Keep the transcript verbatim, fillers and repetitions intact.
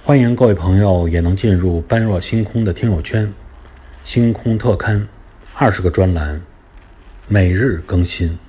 欢迎各位朋友也能进入般若星空的听友圈，星空特刊二十个专栏，每日更新。